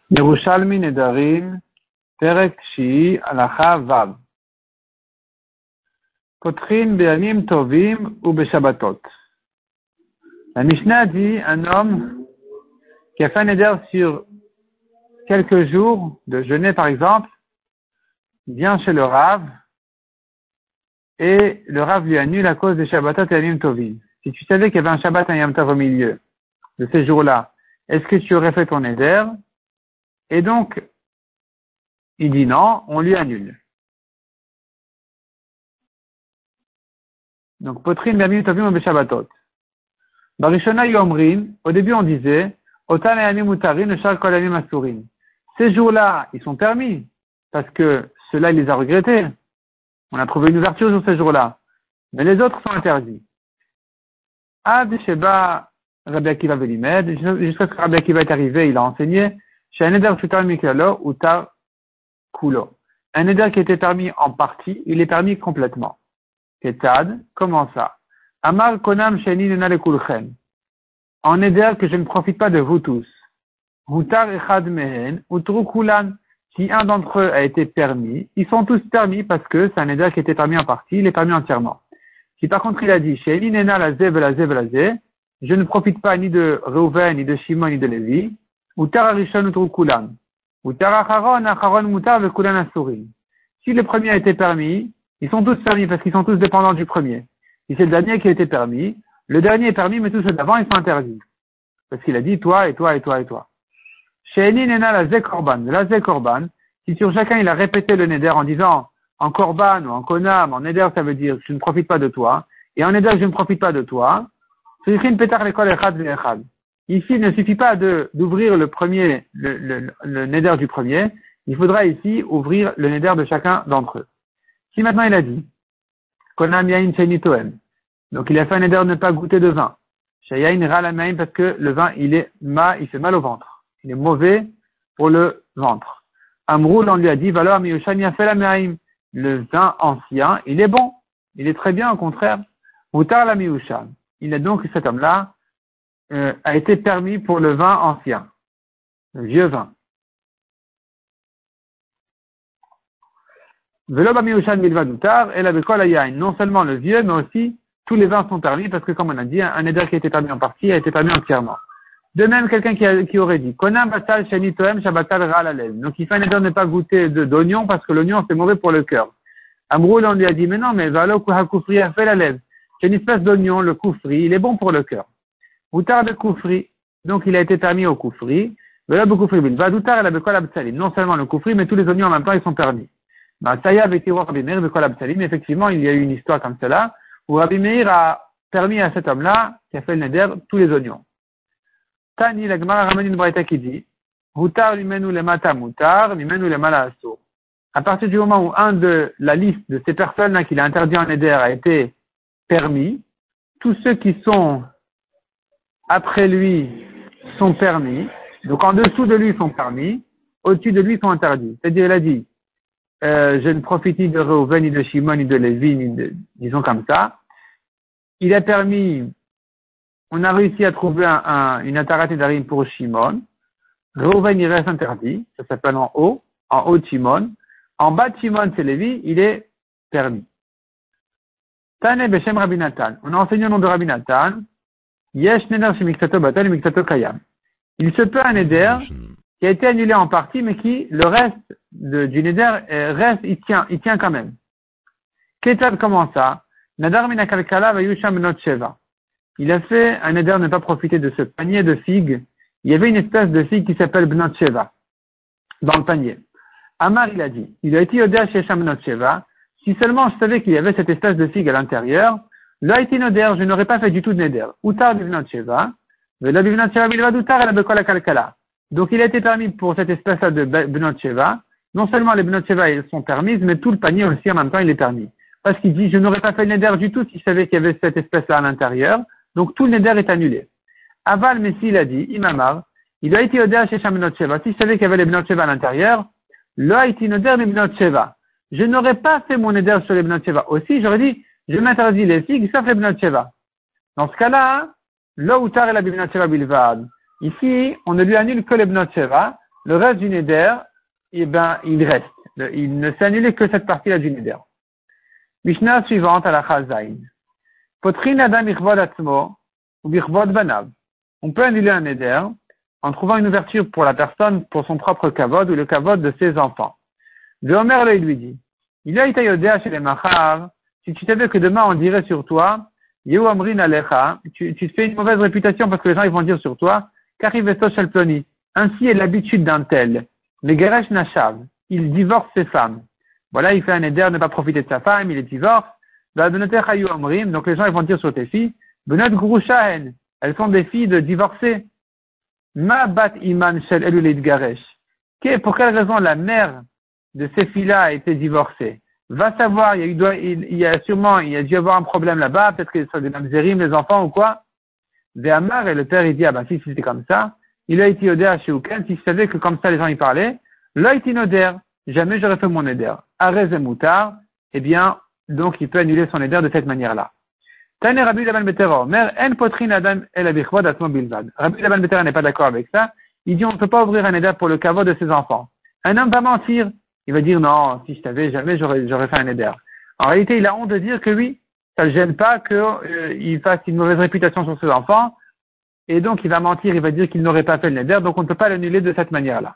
Yerushalmi Nedarim, Perek Shi, Halacha Vav. Potrin Be'amim Tovim ou Be'Shabbatot. La Mishnah dit un homme qui a fait un neder sur quelques jours de jeûner par exemple, vient chez le Rav et le Rav lui annule à cause des Shabbatot et Amim Tovim. Si tu savais qu'il y avait un Shabbat et un Yom Tov au milieu de ces jours-là, est-ce que tu aurais fait ton neder? Et donc, il dit non, on lui annule. Donc, Potrin Be'amim Tovim ou Be'Shabbatot. Barishona Yomrin, au début on disait, Otan Ayamim Mutarin, Shar Kol Ayamim Asurin. Ces jours-là, ils sont permis, parce que ceux-là, il les a regrettés. On a trouvé une ouverture sur ces jours-là. Mais les autres sont interdits. Ad Sheba Rabbi Akiva Velimed, jusqu'à ce que Rabbi Akiva est arrivé, il a enseigné, chez un neder Futar Mikalo ou Tar Kulo. Un neder qui était permis en partie, il est permis complètement. Ketad, comment ça? Amar Konam Sheni Nena Lekulchen. En neder que je ne profite pas de vous tous. Hutar Echad Mehen, Utru Kulan. Si un d'entre eux a été permis, ils sont tous permis parce que c'est un neder qui était permis en partie, il est permis entièrement. Si par contre il a dit, Sheni Nena Lazé Velazé Velazé, je ne profite pas ni de Reuven, ni de Shimon, ni de Lévi, Utar Arishon Utru Kulan. Utar Acharon, Acharon Mutar Vekulan Asurin. Si le premier a été permis, ils sont tous permis parce qu'ils sont tous dépendants du premier. Si c'est le dernier qui a été permis, le dernier est permis, mais tous ceux d'avant, ils sont interdits. Parce qu'il a dit toi, et toi, et toi, et toi. She'eni nena la ze korban, si sur chacun il a répété le neder en disant en korban ou en konam, en neder ça veut dire je ne profite pas de toi, et en neder je ne profite pas de toi, ici il ne suffit pas d'ouvrir le premier, le neder du premier, il faudra ici ouvrir le neder de chacun d'entre eux. Si maintenant il a dit konam yain sheni toem, donc il a fait un neder de ne pas goûter de vin. Shayain ralamaim parce que le vin il fait mal au ventre. Il est mauvais pour le ventre. Amroul, on lui a dit, valeur miyushan yafel amaim. Le vin ancien, il est bon. Il est très bien, au contraire. Mutar la miyushan. Il a donc, cet homme-là, a été permis pour le vin ancien. Le vieux vin. Velo ba miyushan milva dutar, et la bekol ayain. Non seulement le vieux, mais aussi tous les vins sont permis parce que, comme on a dit, un éder qui a été permis en partie a été permis entièrement. De même, quelqu'un qui aurait dit, Konam batal sheni toem shabatal ra'alalev. Donc, il fait un éder de ne pas goûter d'oignon parce que l'oignon, c'est mauvais pour le cœur. Amroul, on lui a dit, mais non, mais valo kuha kufri a fait la lèvre. C'est une espèce d'oignon, le kufri, il est bon pour le cœur. Outar de kufri. Donc, il a été permis au kufri. Velo be kufri bin. Vadoutar, elle a bekol absalim. Non seulement le kufri, mais tous les oignons en même temps, ils sont permis. Saya avec Rabbi Meir bekol absalim. Effectivement, il y a eu une histoire comme cela, où Rabbi Meir a permis à cet homme-là, qui a fait le neder, tous les oignons. Tani, la Gemara ramène une braïta qui dit, Hutar limenu lemata mutar, limenu lemala asur. À partir du moment où un de la liste de ces personnes-là qu'il a interdit en éder a été permis, tous ceux qui sont après lui sont permis, donc en dessous de lui sont permis, au-dessus de lui sont interdits. C'est-à-dire, il a dit, je ne profite ni de Reuven, ni de Shimon, ni de Lévi, disons comme ça. Il a permis. On a réussi à trouver une atarat nedarim pour Shimon. Reuven, il reste interdit. Ça s'appelle en haut de Shimon. En bas de Shimon, c'est Lévi, il est permis. Tane Beshem Rabbi Natan. On a enseigné au nom de Rabbi Natan. Yesh neder shemiktato batal et miktato kayam. Il se peut un neder qui a été annulé en partie, mais qui, le reste du neder, reste, il tient quand même. Ketad, comment ça? Nadar mina kalkala vayusham not sheva. Il a fait un neder ne pas profiter de ce panier de figues. Il y avait une espèce de figue qui s'appelle Bnot Sheva dans le panier. Amar, il a dit, il a été Yoder chez Bnot Sheva. Si seulement je savais qu'il y avait cette espèce de figue à l'intérieur, là été Noder, je n'aurais pas fait du tout de neder. Utar Bnot Sheva, Vela Bnot Sheva Bilvad Utar, elle a kalkala. Donc il a été permis pour cette espèce-là de Bnot Sheva. Non seulement les Bnot Sheva elles sont permises, mais tout le panier aussi en même temps il est permis. Parce qu'il dit, je n'aurais pas fait le neder du tout si je savais qu'il y avait cette espèce-là à l'intérieur. Donc tout le neder est annulé. Aval Messi il a dit, Imamar, il a été odeur chez Bnot Sheva. Si je savais qu'il y avait les Bnot Sheva à l'intérieur, là été odeur les Bnot Sheva. Je n'aurais pas fait mon neder sur les Bnot Sheva. Aussi, j'aurais dit, je m'interdis les figues sauf les Bnot Sheva. Dans ce cas-là, là où tar et la Bnot Sheva bilvad. Ici, on ne lui annule que les Bnot Sheva. Le reste du neder, eh ben, il reste. Il ne s'est annulé que cette partie-là du neder. Mishnah suivante à la Chazaïn. Potrin adam ichvod atzmo ou bichvod banav. On peut annuler un neder en trouvant une ouverture pour la personne, pour son propre kavod ou le kavod de ses enfants. Le Omer il lui dit, il a été yodéa chez les machav, si tu savais que demain on dirait sur toi, Yehu amrin alecha, tu te fais une mauvaise réputation parce que les gens ils vont dire sur toi, karivesto shel ploni. Ainsi est l'habitude d'un tel. Mais Geresh Nashav, il divorce ses femmes. Voilà, il fait un éder, ne pas profiter de sa femme, il est divorce. Donc les gens ils vont dire sur tes filles, Benot Gurushahen, elles sont des filles de divorcés. Ma bat iman shel elulid garesh. Pour quelle raison la mère de ces filles-là a été divorcée? Va savoir, il y a dû y avoir un problème là-bas, peut-être que ce sont des mamzerim, les enfants ou quoi. Ve'amar, et le père il dit, ah ben si c'était comme ça, il a été odé à Sheuken, si je savais que comme ça les gens y parlaient, là il noder, jamais j'aurais fait mon éder. Arez et moutar, eh bien, donc il peut annuler son éder de cette manière-là. Tane Rabbi Laban Betera, mère en potrin adam el abichvod atmo bilvad. Rabbi Laban Betera n'est pas d'accord avec ça. Il dit on ne peut pas ouvrir un éder pour le kavod de ses enfants. Un homme va mentir. Il va dire non, si je savais, jamais j'aurais fait un éder. En réalité, il a honte de dire que oui, ça ne gêne pas qu'il fasse une mauvaise réputation sur ses enfants. Et donc, il va mentir, il va dire qu'il n'aurait pas fait le neder, donc on ne peut pas l'annuler de cette manière-là.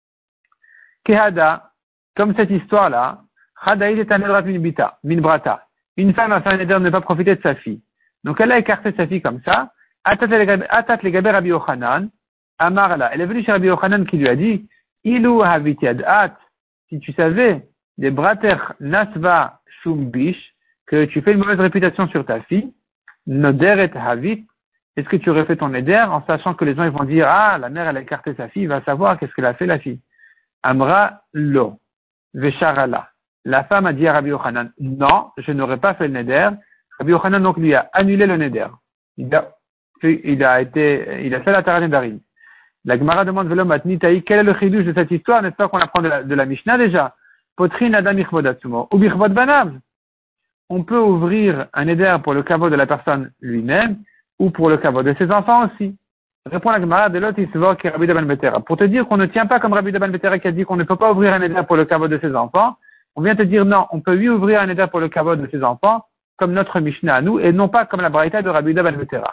Kehada, comme cette histoire-là, Hadaïd est un nedrat min brata. Une femme a fait un neder de ne pas profiter de sa fille. Donc, elle a écarté sa fille comme ça. Atat le gaber Rabbi Yochanan, Amarla. Elle est venue chez Rabbi Yochanan qui lui a dit, Ilu haviti adat, si tu savais, des brater nasva shumbish, que tu fais une mauvaise réputation sur ta fille, noder et havit, est-ce que tu aurais fait ton éder en sachant que les gens ils vont dire ah la mère elle a écarté sa fille, va savoir qu'est-ce qu'elle a fait la fille. Amra lo vesharala. La femme a dit à Rabbi Yochanan non, je n'aurais pas fait le neder. Rabbi Yochanan donc lui a annulé le neder. Il a fait la Tara Nedarim. La Gemara demande Velo matni taï, quel est le chidouche de cette histoire, n'est-ce pas qu'on apprend de la Mishnah déjà? Potrin adam ichvod atsumo ou bichvod banav. On peut ouvrir un éder pour le kavod de la personne lui-même ou pour le kavod de ses enfants aussi. Répond la Gemara de l'autre Isvor qui est Rabbi Laban Betera. Pour te dire qu'on ne tient pas comme Rabbi Laban Betera qui a dit qu'on ne peut pas ouvrir un éder pour le kavod de ses enfants, on vient te dire non, on peut lui ouvrir un éder pour le kavod de ses enfants, comme notre Mishnah à nous, et non pas comme la Braïta de Rabbi Laban Betera.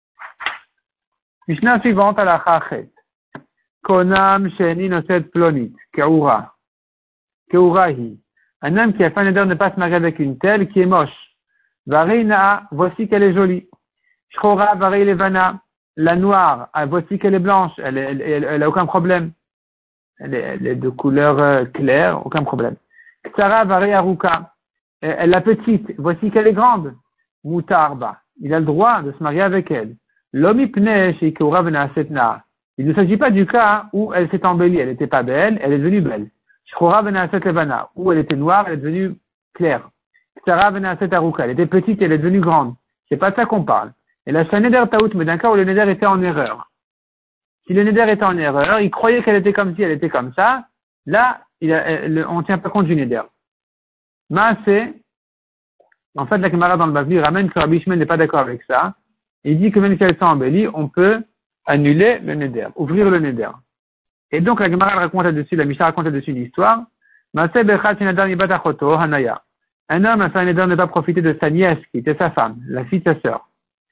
Mishnah suivante à la Chachet. Konam sheni noset plonit, keura. Keurahi. Un homme qui a fait un éder de ne pas se marier avec une telle qui est moche. Varina, voici qu'elle est jolie. Shchora varei levana, la noire, voici qu'elle est blanche, elle a aucun problème. Elle est de couleur claire, aucun problème. Ksara varei aruka, la petite, voici qu'elle est grande. Mutarba, il a le droit de se marier avec elle. Lomi pne sheikura venasetna. Il ne s'agit pas du cas où elle s'est embellie, elle n'était pas belle, elle est devenue belle. Shchora venaset levana, où elle était noire, elle est devenue claire. Ksara venaset aruka, elle était petite, elle est devenue grande. C'est pas de ça qu'on parle. Et là, c'est un neder taout, mais d'un cas où le neder était en erreur. Si le neder était en erreur, il croyait qu'elle était comme si elle était comme ça, là, on ne tient pas compte du neder. Maaseh, en fait, la camarade dans le Bavli ramène que Rabbi Ishmael n'est pas d'accord avec ça. Il dit que même si elles sont embellies, on peut annuler le neder, ouvrir le neder. Et donc, la camarade raconte là-dessus, la Mishnah raconte là-dessus l'histoire. Maaseh bechat shenadar mibat achoto, hanaya. Un homme a fait un neder de ne pas profiter de sa nièce, qui était sa femme, la fille de sa sœur.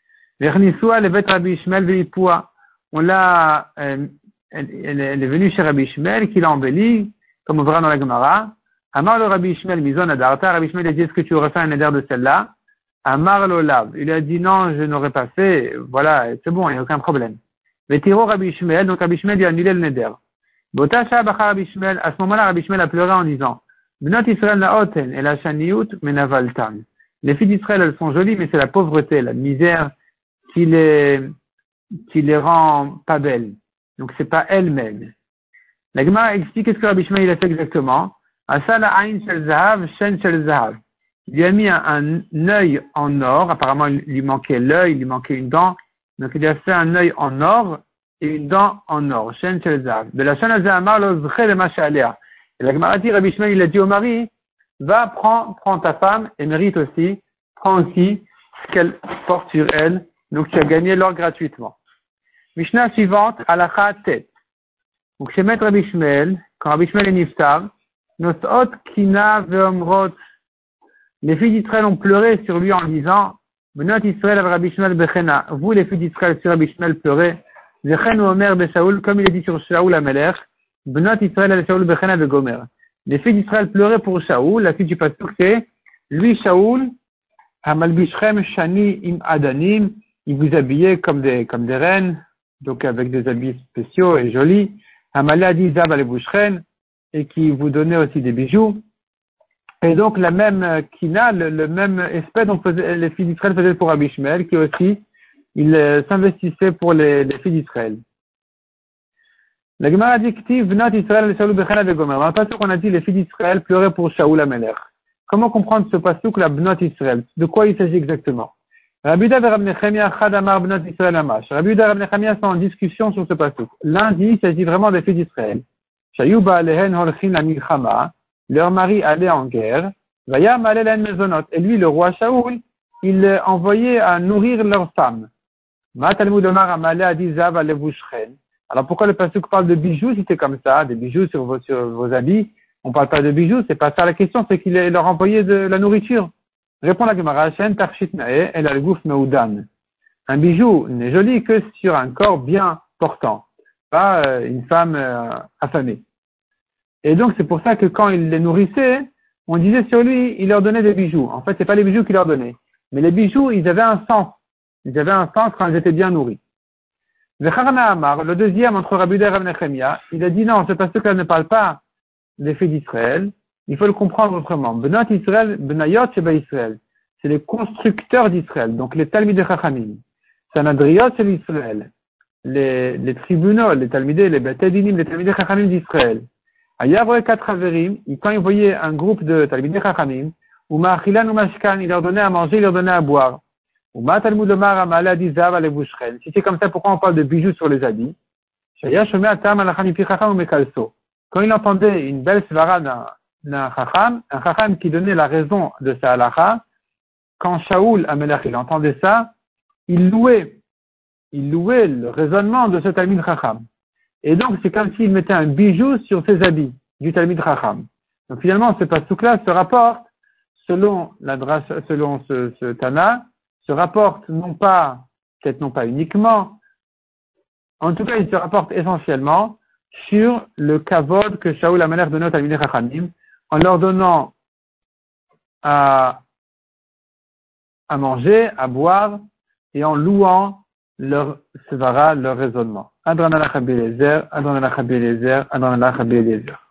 On l'a, elle est venue chez Rabbi Ishmael, qui l'a embellie, comme on verra dans la Gemara. Amar le Rabbi Ishmael, mizon adarta, Rabbi Ishmael a dit, est-ce que tu aurais fait un neder de celle-là? Amar lo lav, il a dit, non, je n'aurais pas fait, voilà, c'est bon, il n'y a aucun problème. Mais tiro Rabbi Ishmael, donc Rabbi Ishmael lui a annulé le neder. Botasha bacha Rabbi Ishmael, à ce moment-là, Rabbi Ishmael a pleuré en disant, Bnot Israël la oten, et la shaniut menavaltan. Les filles d'Israël, elles sont jolies, mais c'est la pauvreté, la misère, qui les rend pas belles. Donc c'est pas elles-mêmes. La Gemara explique ce que Rabbi Ishmael a fait exactement. Asala ayn shel zahav, shen shel zahav. Il lui a mis un œil en or. Apparemment, il lui manquait l'œil, il lui manquait une dent. Donc il lui a fait un œil en or et une dent en or. Shen shel zahav. De la shen al zahamar lo zche le macha alea. Et la Gemara dit, Rabbi Ishmael, il a dit au mari, va, prends ta femme et mérite aussi, prends aussi ce qu'elle porte sur elle. Donc tu as gagné l'or gratuitement. Mishnah suivante, halakha tet. Donc, chez Maître Rabbi Shmuel, quand Rabbi Shmuel est niftar, Nosot Kina Veomrot, les filles d'Israël ont pleuré sur lui en disant, Benot Israël av Rabbi Shmuel Bechena, vous les filles d'Israël sur Rabbi Shmuel pleurez, Zechen ou Omer Beshaoul, comme il est dit sur Shaoul Amelech, Benot Israël av Shaoul Bechena Begomer. Les filles d'Israël pleuraient pour Shaoul, la fille du pasteur c'est, lui Shaoul, Hamalbishrem Shani Im Adanim, il vous habillait comme des reines, donc avec des habits spéciaux et jolis, Hamaladi Zab Alebushren, et qui vous donnait aussi des bijoux. Et donc la même kina, le même espèce dont les filles d'Israël faisaient pour Rabbi Shmuel, qui aussi, il s'investissait pour les filles d'Israël. La Gemara dit Ktiv Vnot Israël Shaoul Bechena Vegomer. Dans le passage qu'on a dit les filles d'Israël pleuraient pour Shaoul Amelech. Comment comprendre ce pasuk, la Bnot Israël? De quoi il s'agit exactement? Rabbi Yehuda et Rabbi Nechemia Chad Amar Bnot Israël Amash. Rabbi Yehuda et Rabbi Nechemia sont en discussion sur ce pasuk. L'un dit il s'agit vraiment des filles d'Israël. Shayuba Alehen Holchin la Milchama. Leur mari allait en guerre. Vayam Alelen Mezonot. Et lui, le roi Shaoul, il envoyait à nourrir leurs femmes. Ma Talmud Omar Amalé Adi Zav Alevushren. Alors pourquoi le pasuk parle de bijoux si c'est comme ça, des bijoux sur vos habits? On parle pas de bijoux, c'est pas ça la question, c'est qu'il leur envoyait de la nourriture. Répond la Gemara, Shen Tarshit Nae, El Al-Gouf Meudan. Un bijou n'est joli que sur un corps bien portant, pas une femme affamée. Et donc c'est pour ça que quand il les nourrissait, on disait sur lui, il leur donnait des bijoux. En fait, c'est pas les bijoux qu'il leur donnait. Mais les bijoux, ils avaient un sens. Ils avaient un sens quand ils étaient bien nourris. Zecharna Amar, le deuxième entre Rabbi Yehuda et Rabbi Nechemia, il a dit non, ce pasuk-là ne parle pas des filles d'Israël. Il faut le comprendre autrement. Benot Israël, Benayot Sheba Israël. C'est les constructeurs d'Israël, donc les Talmidei Chachamim. Sanadriot c'est l'Israël. Les tribunaux, les Talmidei, les Betedinim, les Talmidei Chachamim d'Israël. Ayavoé quatre Haverim, quand ils voyaient un groupe de Talmidei Chachamim, ou Ma'achilan ou Mashkan, il leur donnait à manger, il leur donnait à boire. Ou Talmud Omar Amale Adi Zav Alevushren. Si c'est comme ça, pourquoi on parle de bijoux sur les habits? Shaya Shomei Atam Alachan Mipi Chacham ou Mekalso. Quand il entendait une belle svara d'un Chacham, un Chacham qui donnait la raison de sa halacha, quand Shaoul Amelech il entendait ça, il louait le raisonnement de ce Talmid Chacham. Et donc c'est comme s'il mettait un bijou sur ses habits du Talmid Chacham. Donc finalement ce pasuk-là se rapporte selon ce Tana, se rapporte peut-être non pas uniquement, en tout cas il se rapporte essentiellement sur le kavod que Shaoul Amelech donnait aux Talmidei Chachamim en leur donnant à manger, à boire et en louant leur svara, leur raisonnement. Adran Alach Rabbi Eliezer, Adran Alach Rabbi Eliezer, Adran Alach Rabbi Eliezer.